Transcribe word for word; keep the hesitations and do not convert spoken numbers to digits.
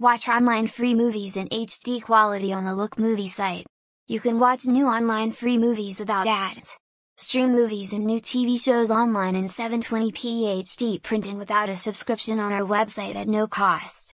Watch online free movies in H D quality on the Look Movie site. You can watch new online free movies without ads. Stream movies and new T V shows online in seven twenty p H D print and without a subscription on our website at no cost.